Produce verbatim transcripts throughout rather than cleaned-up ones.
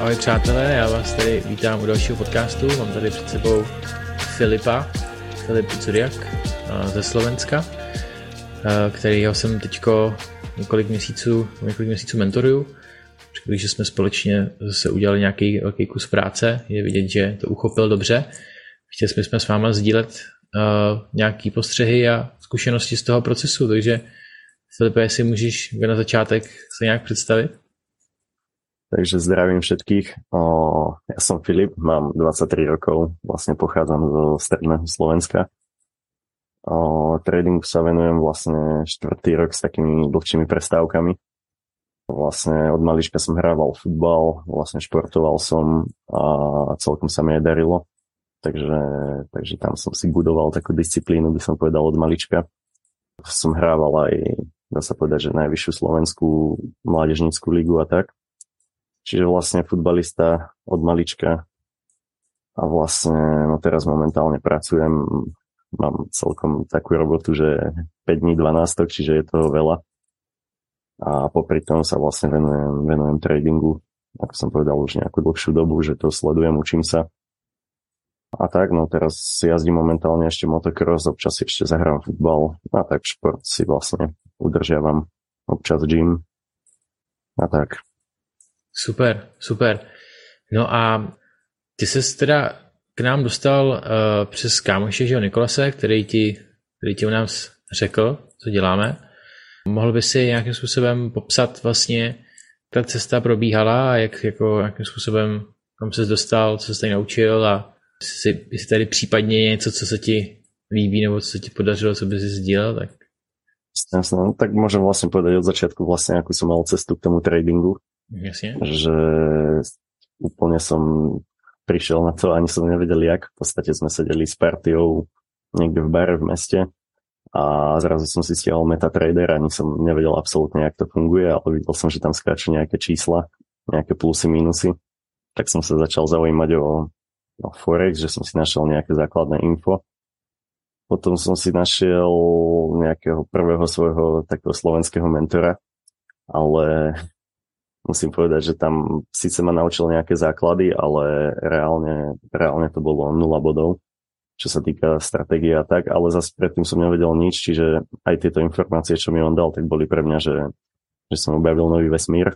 Ahoj přátelé, já vás tady vítám u dalšího podcastu. Mám tady před sebou Filipa, Filip Dzuriak ze Slovenska, kterýho jsem teďko několik měsíců, několik měsíců mentoruju. Když jsme společně se udělali nějaký velký kus práce, je vidět, že to uchopil dobře. Chtěli jsme s váma sdílet uh, nějaký postřehy a zkušenosti z toho procesu, takže Filipe, jestli můžeš na začátek se nějak představit? Takže zdravím všetkých. O, ja som Filip, mám dvadsaťtri rokov, vlastne pochádzam zo stredného Slovenska. O, tradingu sa venujem vlastne štvrtý rok s takými dlhšími prestávkami. Vlastne od malička som hrával futbal, vlastne športoval som a celkom sa mi aj darilo. Takže, takže tam som si budoval takú disciplínu, by som povedal, od malička. Som hrával aj, dá sa povedať, že najvyššiu slovenskú mládežnícku ligu a tak. Čiže vlastne futbalista od malička a vlastne no teraz momentálne pracujem, mám celkom takú robotu, že päť dní dvanástok, čiže je toho veľa a popri tom sa vlastne venujem, venujem tradingu, ako som povedal už nejakú dlhšiu dobu, že to sledujem, učím sa a tak, no teraz si jazdím momentálne ešte motocross, občas ešte zahrám futbal a tak šport si vlastne udržiavam, občas gym a tak. Super, super. No a ty ses teda k nám dostal uh, přes kámoše, že jo, Nikolase, který ti, který ti u nás řekl, co děláme. Mohl by si nějakým způsobem popsat vlastně, ta cesta probíhala a jak, jako, jakým způsobem kam ses dostal, co jsi tady naučil a jestli, jestli tady případně něco, co se ti líbí nebo co se ti podařilo, co by si sdílel, tak... Jasne, no, tak môžem vlastne povedať od začiatku vlastne, akú som mal cestu k tomu tradingu. Jasne. Že úplne som prišiel na to, ani som nevedel jak. V podstate sme sedeli s partiou niekde v bare v meste a zrazu som si stiahol MetaTrader, ani som nevedel absolútne, jak to funguje, ale videl som, že tam skáču nejaké čísla, nejaké plusy, minusy. Tak som sa začal zaujímať o, o Forex, že som si našiel nejaké základné info. Potom som si našiel nejakého prvého svojho takého slovenského mentora, ale musím povedať, že tam síce ma naučil nejaké základy, ale reálne, reálne to bolo nula bodov, čo sa týka stratégie a tak, ale zase predtým som nevedel nič, čiže aj tieto informácie, čo mi on dal, tak boli pre mňa, že, že som objavil nový vesmír.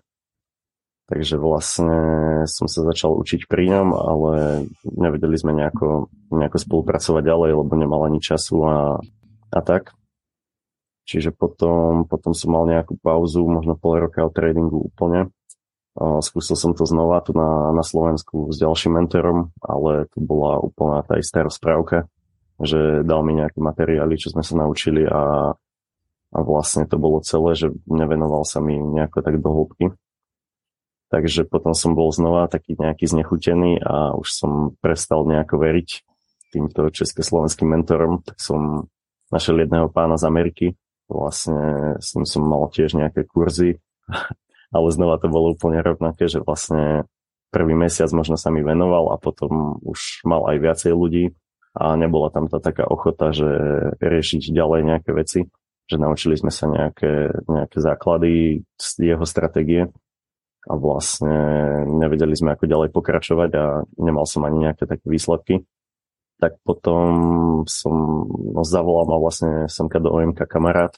Takže vlastne som sa začal učiť pri ňom, ale nevedeli sme nejako, nejako spolupracovať ďalej, lebo nemal ani času a, a tak. Čiže potom, potom som mal nejakú pauzu, možno pol roka od tradingu úplne. Skúsil som to znova tu na, na Slovensku s ďalším mentorom, ale to bola úplná tá istá rozprávka, že dal mi nejaké materiály, čo sme sa naučili a, a vlastne to bolo celé, že nevenoval sa mi nejako tak do hĺbky. Takže potom som bol znova taký nejaký znechutený a už som prestal nejako veriť týmto československým mentorom, tak som našiel jedného pána z Ameriky, vlastne s ním som mal tiež nejaké kurzy, ale znova to bolo úplne rovnaké, že vlastne prvý mesiac možno sa mi venoval a potom už mal aj viacej ľudí a nebola tam tá taká ochota, že riešiť ďalej nejaké veci, že naučili sme sa nejaké, nejaké základy z jeho stratégie a vlastne nevedeli sme, ako ďalej pokračovať a nemal som ani nejaké také výsledky. Tak potom som no, zavolal ma vlastne semka do ó em ká kamarát.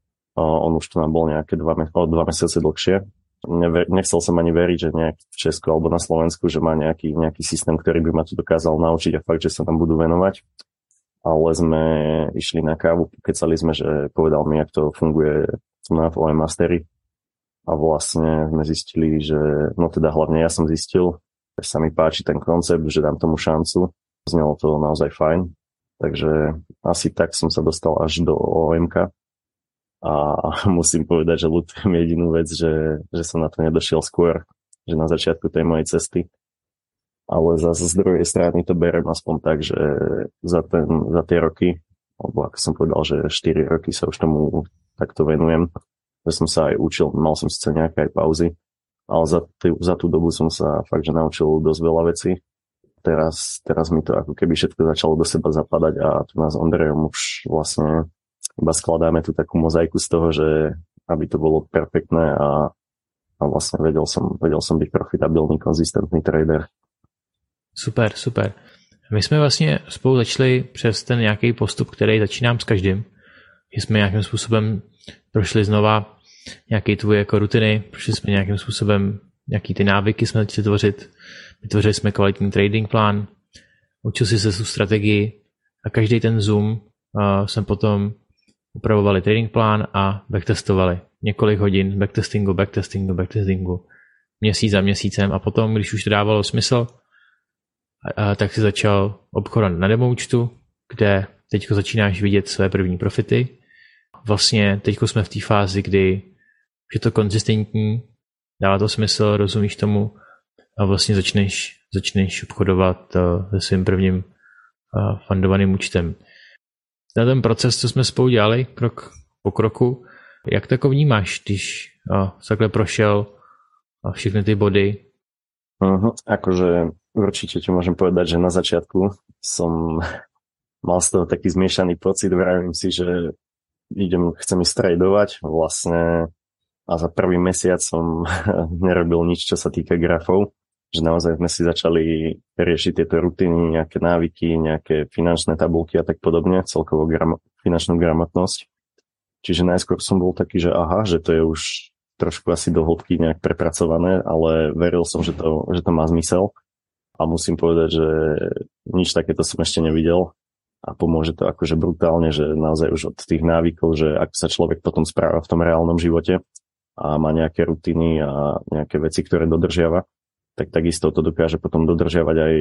On už tu nám bol nejaké dva, o dva mesiace dlhšie. Neve, nechcel som ani veriť, že nejaký v Česku alebo na Slovensku, že má nejaký, nejaký systém, ktorý by ma tu dokázal naučiť a fakt, že sa tam budú venovať. Ale sme išli na kávu, kecali sme, že povedal mi, jak to funguje na ó em Mastery. A vlastne sme zistili, že no teda hlavne ja som zistil, že sa mi páči ten koncept, že dám tomu šancu. Znelo to naozaj fajn. Takže asi tak som sa dostal až do ó em ká. A musím povedať, že ľutujem jedinú vec, že, že som na to nedošiel skôr, že na začiatku tej mojej cesty. Ale zase z druhej strany to berem aspoň tak, že za, ten, za tie roky, alebo ako som povedal, že štyri roky sa už tomu takto venujem, že som sa aj učil, mal som síce nejaké aj pauzy, ale za, tý, za tú dobu som sa fakt, že naučil dosť veľa vecí. Teraz, teraz mi to ako keby všetko začalo do seba zapadať a tu nás s Ondrejom už vlastne iba skladáme tú takú mozaiku z toho, že aby to bolo perfektné a, a a vlastne vedel som, vedel som byť profitabilný, konzistentný trader. Super, super. My jsme vlastně spolu začali přes ten nějaký postup, který začínám s každým. Že jsme nějakým způsobem prošli znova nějaké tvoje jako rutiny, prošli jsme nějakým způsobem nějaký ty návyky jsme začali tvořit, vytvořili jsme kvalitní trading plán, učil si se tu strategii a každý ten Zoom uh, jsme potom upravovali trading plán a backtestovali několik hodin backtestingu, backtestingu, backtestingu, měsíc za měsícem a potom, když už to dávalo smysl, a tak si začal obchodovat na demo účtu, kde teďko začínáš vidět své první profity. Vlastně teďko jsme v té fázi, kdy je to konzistentní, dává to smysl, rozumíš tomu a vlastně začneš, začneš obchodovat se svým prvním fundovaným účtem. Na ten proces, co jsme spolu dělali, krok po kroku, jak to jako vnímáš, když takhle prošel všechny ty body? Uh-huh. Akože určite ti môžem povedať, že na začiatku som mal z toho taký zmiešaný pocit, vravím si, že idem, chcem ísť tradovať vlastne a za prvý mesiac som nerobil nič, čo sa týka grafov, že naozaj sme si začali riešiť tieto rutiny, nejaké návyky, nejaké finančné tabulky a tak podobne, celkovo gram- finančnú gramotnosť. Čiže najskôr som bol taký, že aha, že to je už trošku asi do hĺbky nejak prepracované, ale veril som, že to, že to má zmysel a musím povedať, že nič takéto som ešte nevidel a pomôže to akože brutálne, že naozaj už od tých návykov, že ak sa človek potom správa v tom reálnom živote a má nejaké rutiny a nejaké veci, ktoré dodržiava, tak takisto to dokáže potom dodržiavať aj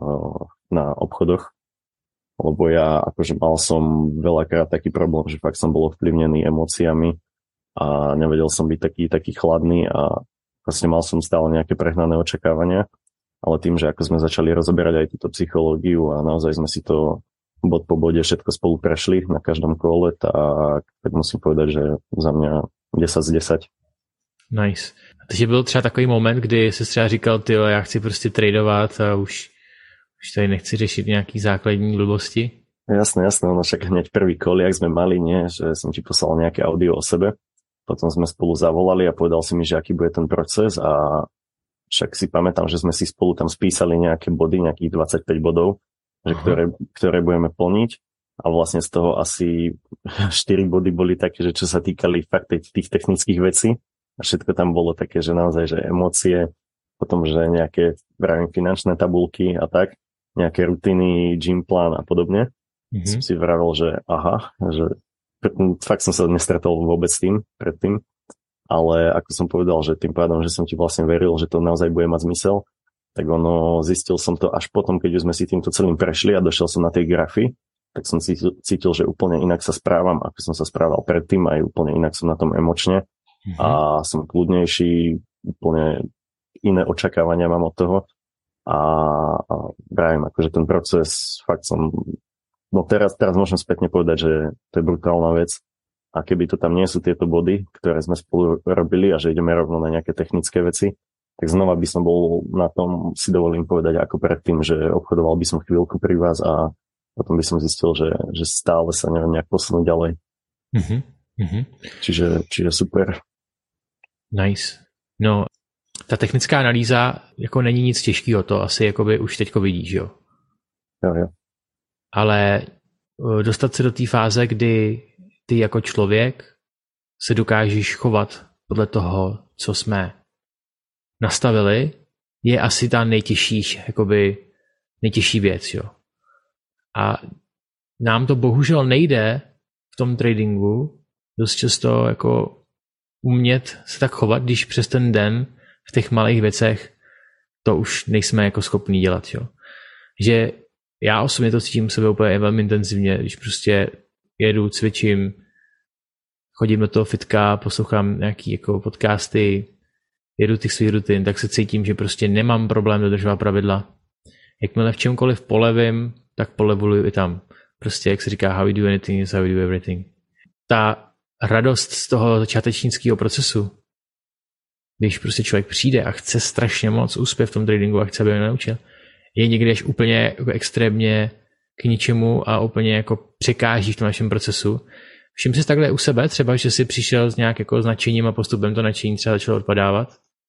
na obchodoch, lebo ja akože mal som veľakrát taký problém, že fakt som bol ovplyvnený emóciami a nevedel som byť taký, taký chladný a vlastne mal som stále nejaké prehnané očakávania, ale tým, že ako sme začali rozoberať aj túto psychológiu a naozaj sme si to bod po bode všetko spolu prešli na každom kole, tak, tak musím povedať, že za mňa desať z desať. Nice. A takže byl třeba takový moment, kdy jsi třeba říkal, tyjo, já chci prostě tradovat a už, už tady nechci řešit nějaký základní blbosti? Jasné, jasné, ono však hneď prvý kol, jak sme mali, nie, že som ti poslal nejaké audio o sebe. Potom sme spolu zavolali a povedal si mi, že aký bude ten proces a však si pamätám, že sme si spolu tam spísali nejaké body, nejakých dvadsaťpäť bodov, že ktoré, ktoré budeme plniť a vlastne z toho asi štyri body boli také, že čo sa týkali fakt tých technických vecí a všetko tam bolo také, že naozaj, že emócie, potom, že nejaké vravím finančné tabulky a tak, nejaké rutiny, gym plán a podobne. Mm-hmm. Som si vravel, že aha, že fakt som sa nestretol vôbec s tým predtým, ale ako som povedal, že tým pádom, že som ti vlastne veril, že to naozaj bude mať zmysel, tak ono, zistil som to až potom, keď už sme si týmto celým prešli a došiel som na tie grafy, tak som cítil, cítil, že úplne inak sa správam, ako som sa správal predtým, aj úplne inak som na tom emočne mm-hmm. a som kľudnejší, úplne iné očakávania mám od toho a, a vravím, akože ten proces fakt som no teraz, teraz môžem spätne povedať, že to je brutálna vec a keby to tam nie sú tieto body, ktoré sme spolu robili a že ideme rovno na nejaké technické veci, tak znova by som bol na tom, si dovolím povedať ako predtým, že obchodoval by som chvíľku pri vás a potom by som zistil, že, že stále sa neviem nejak posunúť ďalej. Mm-hmm. Čiže, čiže super. Nice. No, ta technická analýza jako není nic těžkého, to asi jakoby už teďko vidíš, jo? Jo, jo. Ale dostat se do té fáze, kdy ty jako člověk se dokážeš chovat podle toho, co jsme nastavili, je asi ta nejtěžší, jakoby nejtěžší věc, jo. A nám to bohužel nejde v tom tradingu dost často jako umět se tak chovat, když přes ten den v těch malých věcech to už nejsme jako schopní dělat, jo. Že já osobně to cítím sebe úplně velmi intenzivně, když prostě jedu, cvičím, chodím do toho fitka, poslouchám nějaký jako podcasty, jedu těch svých rutin, tak se cítím, že prostě nemám problém dodržovat pravidla. Jakmile v čemkoliv polevím, tak polevoluju i tam. Prostě, jak se říká, how you do anything is how you do everything. Ta radost z toho začátečnického procesu, když prostě člověk přijde a chce strašně moc úspěch v tom tradingu a chce, aby mě naučil, je někdy až úplně jako extrémně k ničemu a úplně jako překáží v tom našem procesu. Všim si takhle u sebe třeba, že si přišel s nějak jako značením a postupem to nadšení třeba začalo odpadávat?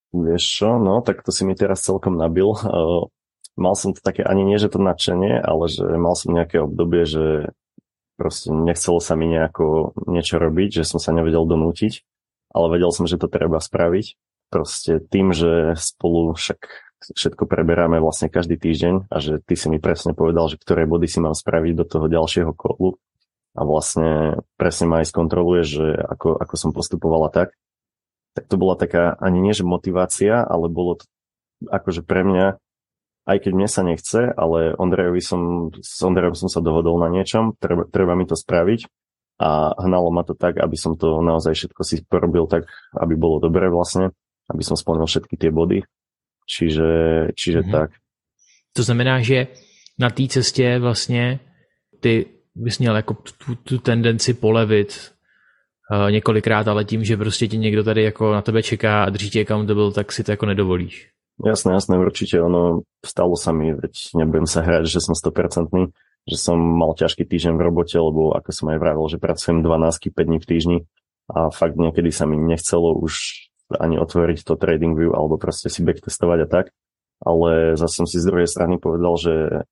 Vieš čo, no, tak to si mi teraz celkom nabil. Uh, mal som to také, ani nie, že to nadšenie, ale že mal som nejaké obdobie, že proste nechcelo sa mi nejako niečo robiť, že som sa nevedel donútiť, ale vedel som, že to treba spraviť. Proste tým, že spolu však všetko preberáme vlastne každý týždeň a že ty si mi presne povedal, že ktoré body si mám spraviť do toho ďalšieho kolu a vlastne presne ma aj skontroluješ, že ako, ako som postupovala tak, tak to bola taká ani nie, že motivácia, ale bolo to akože pre mňa, aj keď mne sa nechce, ale Ondrejovi som, s Ondrejom som sa dohodol na niečom, treba, treba mi to spraviť a hnalo ma to tak, aby som to naozaj všetko si porobil tak, aby bolo dobre vlastne, aby som splnil všetky tie body. Čiže, čiže mm-hmm. tak. To znamená, že na té cestě vlastně ty bys měl jako tu, tu tendenci polevit uh, několikrát, ale tím, že prostě ti někdo tady jako na tebe čeká a drží tě accountable, tak si to jako nedovolíš. Jasné, jasné, určite. Ono stalo sa mi, veď nebudem sa hrať, že som sto percent, že som mal ťažký týždeň v robote, lebo ako som aj vravel, že pracujem dvanásť päť dní v týždni a fakt niekedy sa mi nechcelo už ani otvoriť to TradingView alebo proste si backtestovať a tak. Ale zase som si z druhej strany povedal, že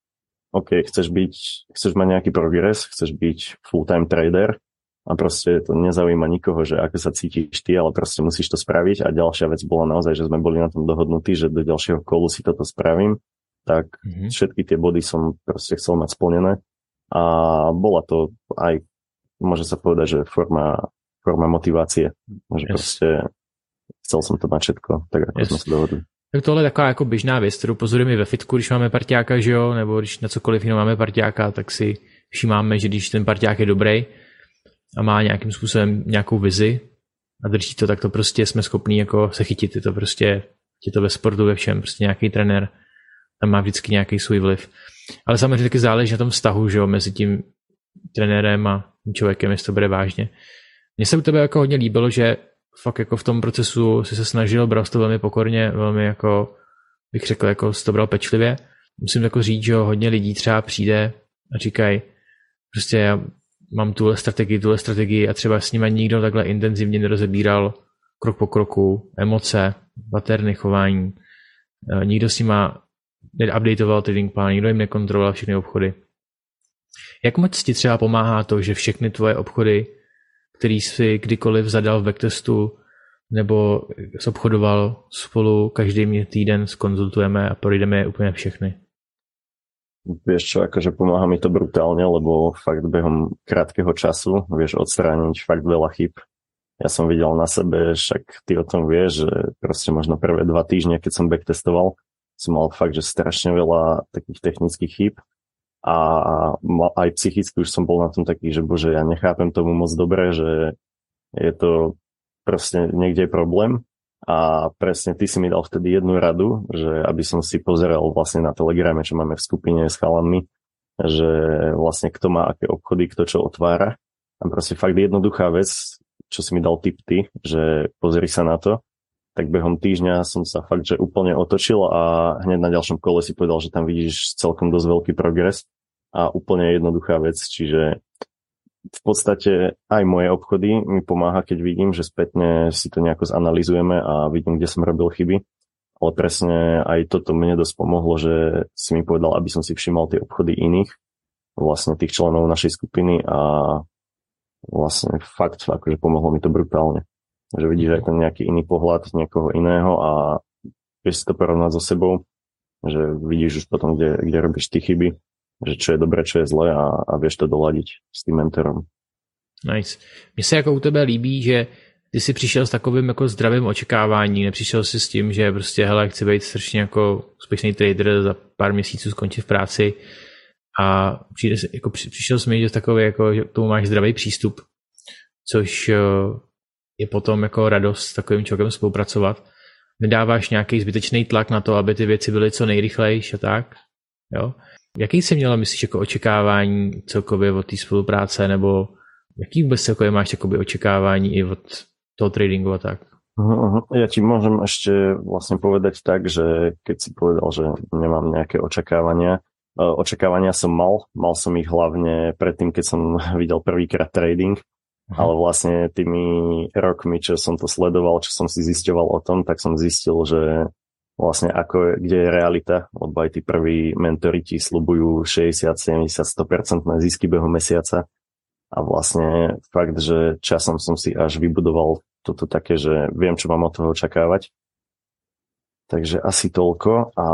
OK, chceš byť, chceš mať nejaký progres, chceš byť full-time trader a proste to nezaujíma nikoho, že ako sa cítiš ty, ale proste musíš to spraviť a ďalšia vec bola naozaj, že sme boli na tom dohodnutí, že do ďalšieho kolu si toto spravím, tak mm-hmm. všetky tie body som proste chcel mať splnené a bola to aj, môže sa povedať, že forma, forma motivácie, že yes. proste chcel som to mať všetko, tak ako yes. sme sa dohodli. Tak tohle je taková jako běžná věc, kterou pozorujeme i ve fitku, když máme parťáka, že jo, nebo když na cokoliv jiného máme parťáka, tak si všimáme, že když ten parťák je dobrý a má nějakým způsobem nějakou vizi a drží to, tak to prostě jsme schopní jako se chytit. Je to prostě, je to ve sportu, ve všem, prostě nějaký trenér tam má vždycky nějaký svůj vliv. Ale samozřejmě taky záleží na tom vztahu, že jo, mezi tím trenérem a tím člověkem, jestli to bude vážně. Mně se u tebe jako hodně líbilo, že fakt jako v tom procesu si se snažil, bral to velmi pokorně, velmi jako, bych řekl, jako si to bral pečlivě. Musím jako říct, že hodně lidí třeba přijde a říkají, prostě já mám tuhle strategii, tuhle strategii a třeba s nimi nikdo takhle intenzivně nerozebíral krok po kroku, emoce, paterny, chování. Nikdo s nima neupdateoval trading plán, nikdo jim nekontroloval všechny obchody. Jak moc ti třeba pomáhá to, že všechny tvoje obchody, který jsi kdykoliv zadal v backtestu nebo obchodoval spolu každý týden skonzultujeme a projdeme je úplně všechny? Vieš čo, akože pomáha mi to brutálne, lebo fakt behom krátkeho času vieš odstrániť fakt veľa chyb. Ja som videl na sebe, však ty o tom vieš, že proste možno prvé dva týždne, keď som backtestoval, som mal fakt, že strašne veľa takých technických chýb a aj psychicky už som bol na tom taký, že bože, ja nechápem tomu moc dobre, že je to proste niekde problém. A presne ty si mi dal vtedy jednu radu, že aby som si pozeral vlastne na Telegrame, čo máme v skupine s chalanmi, že vlastne kto má aké obchody, kto čo otvára. A proste fakt jednoduchá vec, čo si mi dal tip ty, že pozri sa na to, tak behom týždňa som sa fakt, že úplne otočil a hneď na ďalšom kole si povedal, že tam vidíš celkom dosť veľký progres a úplne jednoduchá vec, čiže v podstate aj moje obchody mi pomáha, keď vidím, že spätne si to nejako zanalizujeme a vidím, kde som robil chyby. Ale presne aj toto mne dosť pomohlo, že si mi povedal, aby som si všimol tie obchody iných, vlastne tých členov našej skupiny a vlastne fakt, akože pomohlo mi to brutálne. Že vidíš aj ten nejaký iný pohľad niekoho iného a vieš si to porovnať so sebou, že vidíš už potom, kde, kde robíš ty chyby, že čo je dobré, čo je zlé a, a vieš to doladiť s tým mentorom. Nice. Mně se jako u tebe líbí, že ty jsi přišel s takovým jako zdravým očekáváním, nepřišel si s tím, že prostě hele, chci být strašně jako úspěšný trader, za pár měsíců skončit v práci a přijde, jako přišel jsi mi, že takový jako, že k tomu máš zdravý přístup, což je potom jako radost s takovým člověkem spolupracovat. Nedáváš nějaký zbytečný tlak na to, aby ty věci byly co nejrychlejší a tak, jo? Jaký jsi měla, myslíš, jako očekávání celkově od té spolupráce, nebo jaký vůbec celkově máš takoby očekávání i od toho tradingu a tak? Uh-huh. Ja ti môžem ešte vlastne povedať tak, že keď si povedal, že nemám nejaké očakávania, očakávania som mal, mal som ich hlavne predtým, keď som videl prvýkrát trading Aha. Ale vlastne tými rokmi, čo som to sledoval, čo som si zisťoval o tom, tak som zistil, že vlastne ako, kde je realita, lebo aj tí prví mentori ti sľubujú šesťdesiat, sedemdesiat, sto percent na zisky behu mesiaca a vlastne fakt, že časom som si až vybudoval toto také, že viem, čo mám od toho očakávať. Takže asi toľko a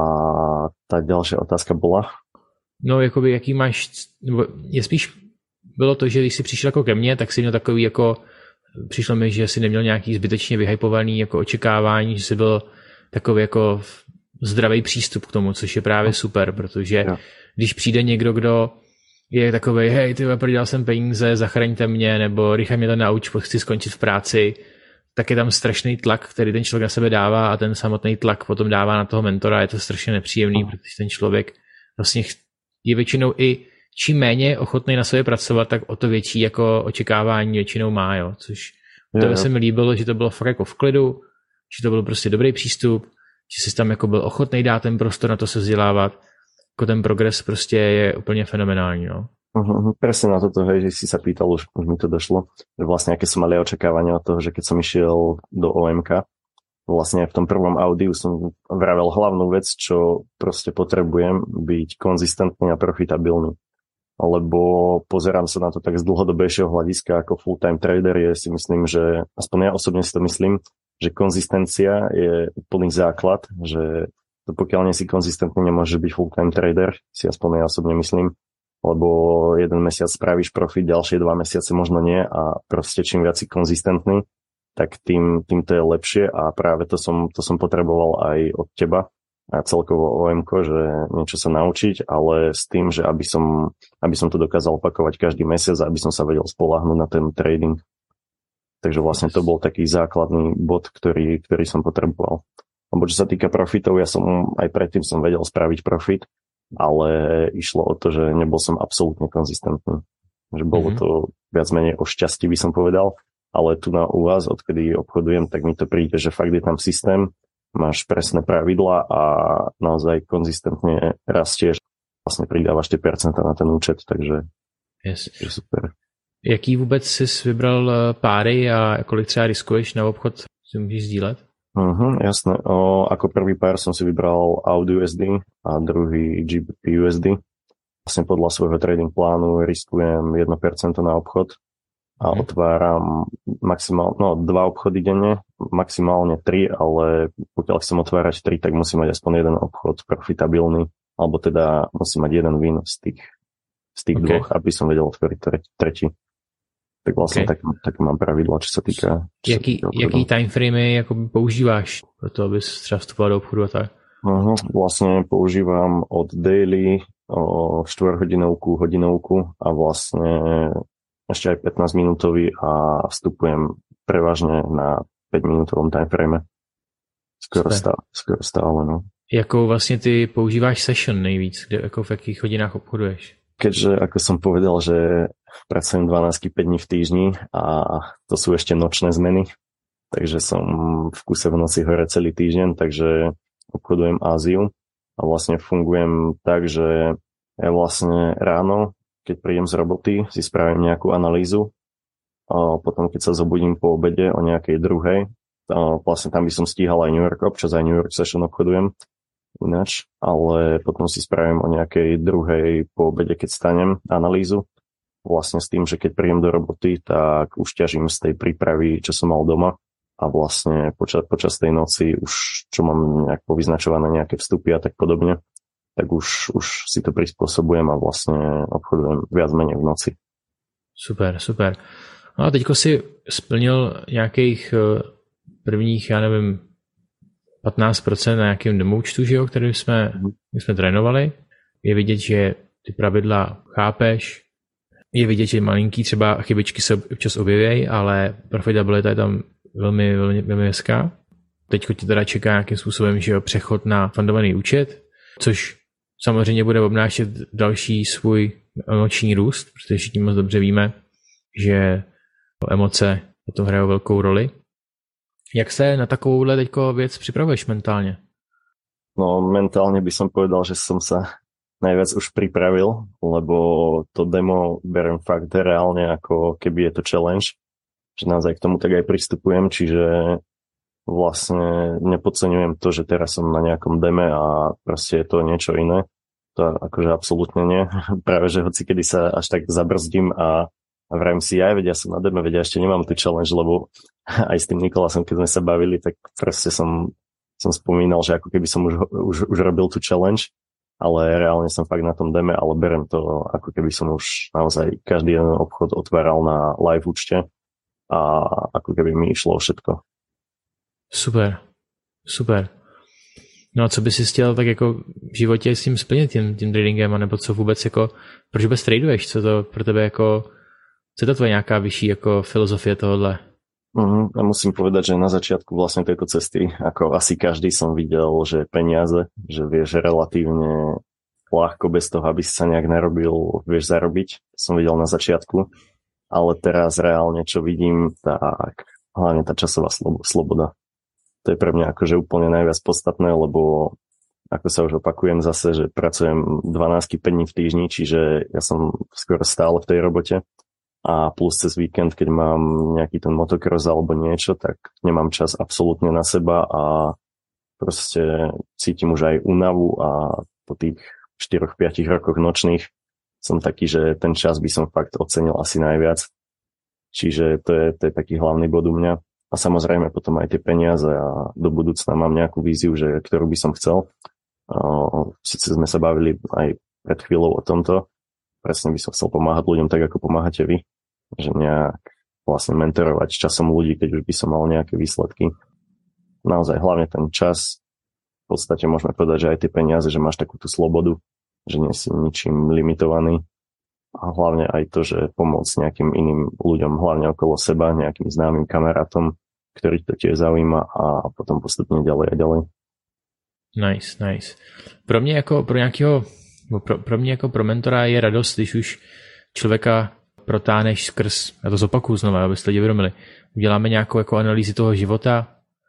tá ďalšia otázka bola? No, jakoby, jaký máš, nebo je spíš bylo to, že když jsi přišel jako ke mně, tak jsi měl takový jako, přišlo mi, že jsi neměl nějaký zbytečně vyhypovaný jako očekávání, že jsi byl takový jako zdravý přístup k tomu, což je právě super, protože no. Když přijde někdo, kdo je takovej, hej, ty prodělal jsem peníze, zachraňte mě, nebo rychle mě to nauč, chci skončit v práci, tak je tam strašný tlak, který ten člověk na sebe dává a ten samotný tlak potom dává na toho mentora, je to strašně nepříjemný, protože ten člověk vlastně je většinou i čím méně ochotný na sobě pracovat, tak o to větší jako očekávání většinou má, jo, což to se mi líbilo, že to bylo fakt jako v klidu, že to byl prostě dobrý přístup, že jsi tam jako byl ochotný dát ten prostor na to se vzdělávat, jako ten progres prostě je úplně fenomenální, no. Uh-huh, presne na toto, hej, že si sa pýtal, už, už mi to došlo, že vlastne aké som mali očakávania od toho, že keď som išiel do ó em ká, vlastne v tom prvom audiu som vravel hlavnú vec, čo proste potrebujem byť konzistentný a profitabilný. Lebo pozerám sa na to tak z dlhodobejšieho hľadiska ako full-time trader, je si myslím, že aspoň ja osobne si to myslím, že konzistencia je úplný základ, že pokiaľ nie si konzistentný, nemôžeš byť full-time trader, si aspoň ja osobne myslím, lebo jeden mesiac spravíš profit, ďalšie dva mesiace možno nie a proste čím viac si konzistentný, tak tým, tým to je lepšie a práve to som, to som potreboval aj od teba a celkovo ó em ko, že niečo sa naučiť, ale s tým, že aby som, aby som to dokázal opakovať každý mesiac a aby som sa vedel spoľahnúť na ten trading. Takže vlastne to bol taký základný bod, ktorý, ktorý som potreboval. Lebo čo sa týka profitov, ja som aj predtým som vedel spraviť profit, ale išlo o to, že nebol som absolútne konzistentný. Že bolo mm-hmm. to viac menej o šťastí, by som povedal, ale tu na u vás, odkedy obchodujem, tak mi to príde, že fakt je tam systém, máš presné pravidlá a naozaj konzistentne rastieš, vlastne pridávaš tie percentá na ten účet, takže yes. je super. Jaký vůbec jsi vybral páry a kolik třeba riskuješ na obchod, si můžeš sdílet? Uh-huh, jasné. O, ako prvý pár som si vybral A U D U S D a druhý G B P U S D. Vlastne podľa svojho trading plánu riskujem jedno percento na obchod a uh-huh. otváram maximálne, no dva obchody denne, maximálne tri, ale pokiaľ chcem otvárať tri, tak musím mať aspoň jeden obchod profitabilný, alebo teda musím mať jeden win z tých, z tých okay. dvoch, aby som vedel otvoriť tretí. Tak vlastne okay. tak, tak mám pravidla, čo sa týka... Čo jaký, sa týka jaký timeframe jako používáš pro to, abys třeba vstupoval do obchodu a tak? Uh-huh. Vlastne používam od daily o štvorhodinovku, hodinovku a vlastne ešte aj pätnásť minútový a vstupujem prevažne na päť minútovom timeframe. Skoro stále, skoro stále, no. Jakou vlastne ty používáš session nejvíc? Kde, jako v jakých hodinách obchoduješ? Keďže, ako som povedal, že pracujem dvanásť päť dní v týždni a to sú ešte nočné zmeny, takže som v kuse v noci hore celý týždeň, takže obchodujem Áziu a vlastne fungujem tak, že ja vlastne ráno, keď prídem z roboty, si spravím nejakú analýzu a potom, keď sa zobudím po obede o nejakej druhej, vlastne tam by som stíhal aj New York, občas aj New York session obchodujem ináč, ale potom si spravím o nejakej druhej po obede, keď stanem, analýzu. Vlastne s tým, že keď príjem do roboty, tak už ťažím z tej prípravy, čo som mal doma a vlastne počas, počas tej noci už, čo mám nejak povyznačované nejaké vstupy a tak podobne, tak už, už si to prispôsobujem a vlastne obchodujem viac menej v noci. Super, super. No a teďko si splnil nějakých prvních, já nevím, patnáct procent na nějakém demoučtu, že jo, který jsme, my jsme trénovali. Je vidět, že ty pravidla chápeš, je vidět, že malinký třeba chybičky se občas objevějí, ale profitabilita je tam velmi, velmi, velmi hezká. Teďko ti teda čeká nějakým způsobem, že jo, přechod na fundovaný účet, což samozřejmě bude obnášet další svůj emoční růst, protože všichni moc dobře víme, že emoce o tom hrajou velkou roli. Jak se na takovouhle teďko věc připravuješ mentálně? No mentálne by som povedal, že som sa najviac už pripravil, lebo to demo beriem fakt reálne ako keby je to challenge že naozaj k tomu tak aj pristupujem, čiže vlastne nepodceňujem to, že teraz som na nejakom deme a proste je to niečo iné. To akože absolútne nie. Práve, že hoci kedy sa až tak zabrzdím a, a vrajím si, ja vedia, som na deme, vedia, ešte nemám tu challenge, lebo aj s tým Nikolasom, keď sme sa bavili, tak proste som, som spomínal, že ako keby som už, už, už robil tú challenge, ale reálne som fakt na tom deme, ale berem to, ako keby som už naozaj každý jeden obchod otváral na live účte a ako keby mi išlo všetko. Super, super. No a co bys si chtěl tak jako v životě s tím splnit, tím, tím tradingem, anebo co vůbec jako, proč vůbec traduješ, co to pro tebe jako, co je to tvoje nějaká vyšší jako filozofie tohohle? Mm, ja musím povedať, že na začiatku vlastne tejto cesty, ako asi každý som videl, že peniaze, že vieš relatívne ľahko bez toho, aby si sa nejak narobil, vieš zarobiť. Som videl na začiatku, ale teraz reálne, čo vidím, tak hlavne tá časová sloboda. To je pre mňa akože úplne najviac podstatné, lebo ako sa už opakujem zase, že pracujem dvanásť päť dní v týždni, čiže ja som skoro stále v tej robote. A plus cez víkend, keď mám nejaký ten motocross alebo niečo, tak nemám čas absolútne na seba a proste cítim už aj únavu a po tých štyroch päť rokoch nočných som taký, že ten čas by som fakt ocenil asi najviac. Čiže to je, to je taký hlavný bod u mňa. A samozrejme potom aj tie peniaze a do budúcna mám nejakú víziu, že, ktorú by som chcel. Sice sme sa bavili aj pred chvíľou o tomto. Presne by som chcel pomáhať ľuďom tak, ako pomáhate vy. Že nejak vlastne mentorovať časom ľudí, keď už by som mal nejaké výsledky. Naozaj hlavne ten čas. V podstate môžeme povedať, že aj tie peniaze, že máš takú tú slobodu, že nie si ničím limitovaný. A hlavne aj to, že pomôcť nejakým iným ľuďom, hlavne okolo seba, nejakým známym kamarátom, ktorých to tiež zaujíma a potom postupne ďalej a ďalej. Nice, nice. Pro mě jako pro nějakého Pro, pro mě jako pro mentora je radost, když už člověka protáneš skrz, já to zopakuju znovu, abyste lidi uvědomili, uděláme nějakou jako analýzu toho života,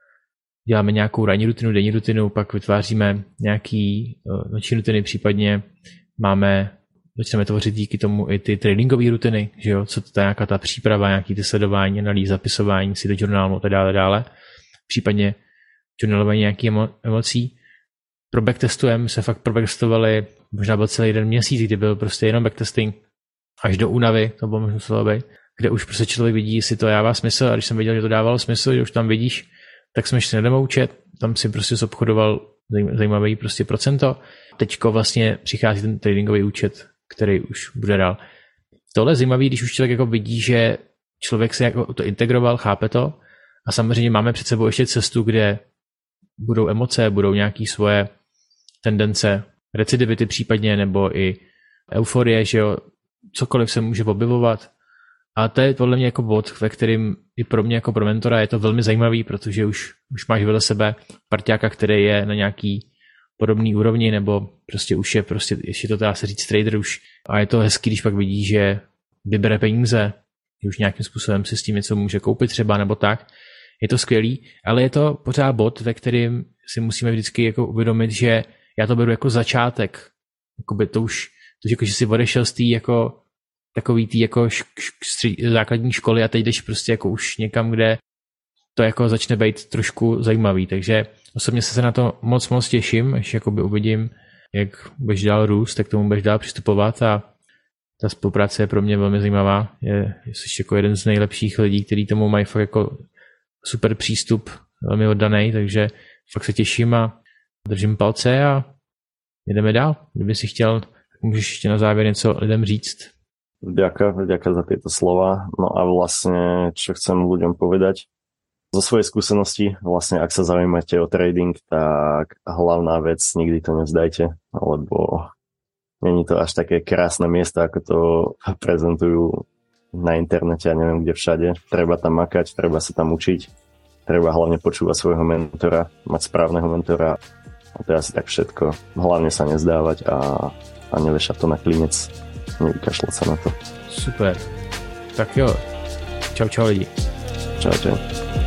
děláme nějakou ranní rutinu, denní rutinu, pak vytváříme nějaký noční rutiny, případně máme, začneme tvořit díky tomu i ty tradingové rutiny, že jo, co to je nějaká ta příprava, nějaký ty sledování, analýza, zapisování si do journálu a tak dále, dále, případně journalování nějakých emo, emocí. Pro backtestujeme se fakt pro backtestovali, možná byl celý jeden měsíc, kdy byl prostě jenom backtesting až do únavy, to bylo možná muselo být, kde už prostě člověk vidí, jestli to dává smysl a když jsem viděl, že to dávalo smysl, že už tam vidíš, tak jsme šli na demo účet, tam si prostě zobchodoval zajímavý prostě procento. Teďko vlastně přichází ten tradingový účet, který už bude dál. Tohle je zajímavý, když už člověk jako vidí, že člověk se jako to integroval, chápe to a samozřejmě máme před sebou ještě cestu, kde budou emoce, budou nějaké svoje tendence, recidivity případně, nebo i euforie, že jo, cokoliv se může objevovat. A to je podle mě jako bod, ve kterým i pro mě jako pro mentora je to velmi zajímavý, protože už, už máš vedle sebe parťáka, který je na nějaký podobný úrovni, nebo prostě už je prostě, ještě to dá se říct trader už. A je to hezký, když pak vidí, že vybere peníze, že už nějakým způsobem si s tím něco může koupit třeba, nebo tak. Je to skvělý, ale je to pořád bod, ve kterým si musíme vždycky jako uvědomit, že já to beru jako začátek. Jakoby to už, to, že, že si odešel z té jako takový tý jako š, š, základní školy a teď jdeš prostě jako už někam, kde to jako začne být trošku zajímavý. Takže osobně se na to moc moc těším, až jakoby uvidím, jak budeš dál růst, tak tomu budeš dál přistupovat a ta spolupráce je pro mě velmi zajímavá. Je, jsi jako jeden z nejlepších lidí, kteří tomu mají fakt jako super přístup, velmi oddaný, takže fakt se těším a držím palce a jdeme dál. Kdyby si chtěl, tak můžeš ještě na závěr něco lidem říct. Ďakujem, ďakujem za tieto slova. No a vlastne, čo chcem ľuďom povedať, zo svojej skúsenosti, vlastne ak sa zaujímate o trading, tak hlavná vec, nikdy to nevzdajte, lebo není to až také krásne miesto, ako to prezentujú na internete a neviem kde všade. Treba tam makať, treba sa tam učiť, treba hlavne počúvať svojho mentora, mať správneho mentora a to je asi tak všetko. Hlavne sa nezdávať a, a nevešať to na klinec. Nevykašľať sa na to. Super. Tak jo. Čau, čau lidi. Čau, čau.